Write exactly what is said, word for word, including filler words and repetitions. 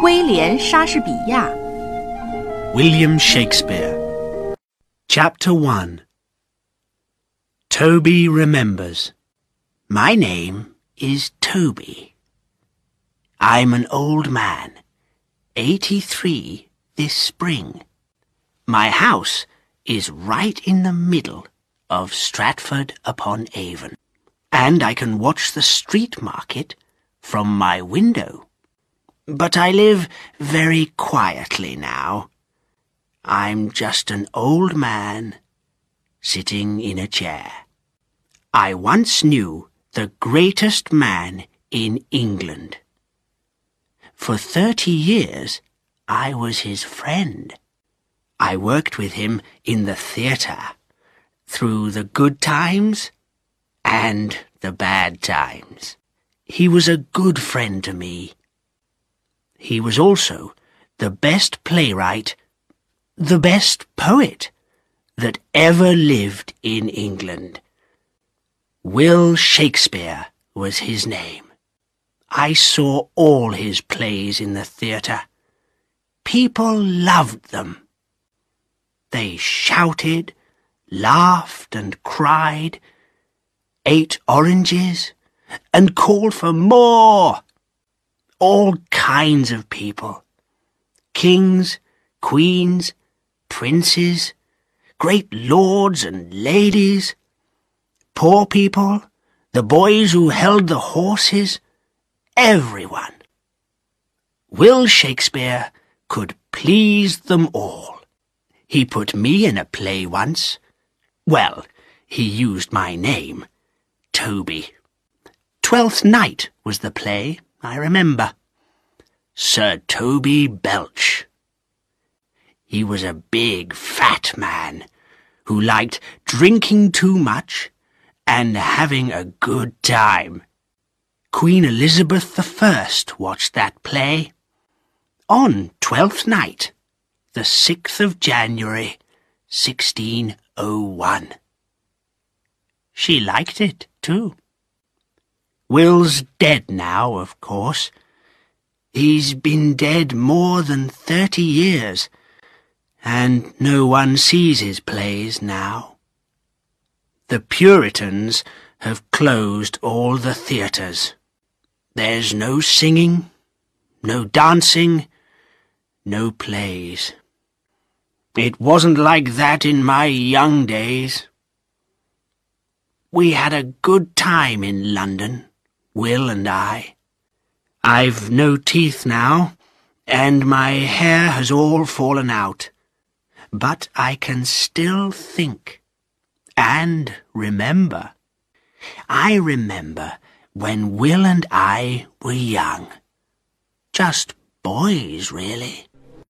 威廉·莎士比亚 William Shakespeare. Chapter one. Toby Remembers. My name is Toby. I'm an old man, eighty-three this spring. My house is right in the middle of Stratford-upon-Avon, and I can watch the street market from my window. But I live very quietly now. I'm just an old man sitting in a chair. I once knew the greatest man in England. For thirty years I was his friend. I worked with him in the theatre, through the good times and the bad times. He was a good friend to me. He was also the best playwright, the best poet that ever lived in England. Will Shakespeare was his name. I saw all his plays in the theatre. People loved them. They shouted, laughed and cried, ate oranges and called for more. All kinds of people. Kings, queens, princes, great lords and ladies, poor people, the boys who held the horses, everyone. Will Shakespeare could please them all. He put me in a play once. Well, he used my name, Toby. Twelfth Night was the play, I remember. Sir Toby Belch. He was a big, fat man who liked drinking too much and having a good time. Queen Elizabeth the First watched that play on Twelfth Night, the sixth of January, sixteen oh one. She liked it, too. Will's dead now, of course. He's been dead more than thirty years, and no one sees his plays now. The Puritans have closed all the theatres. There's no singing, no dancing, no plays. It wasn't like that in my young days. We had a good time in London, Will and I. I've no teeth now, and my hair has all fallen out. But I can still think and remember. I remember when Will and I were young. Just boys, really.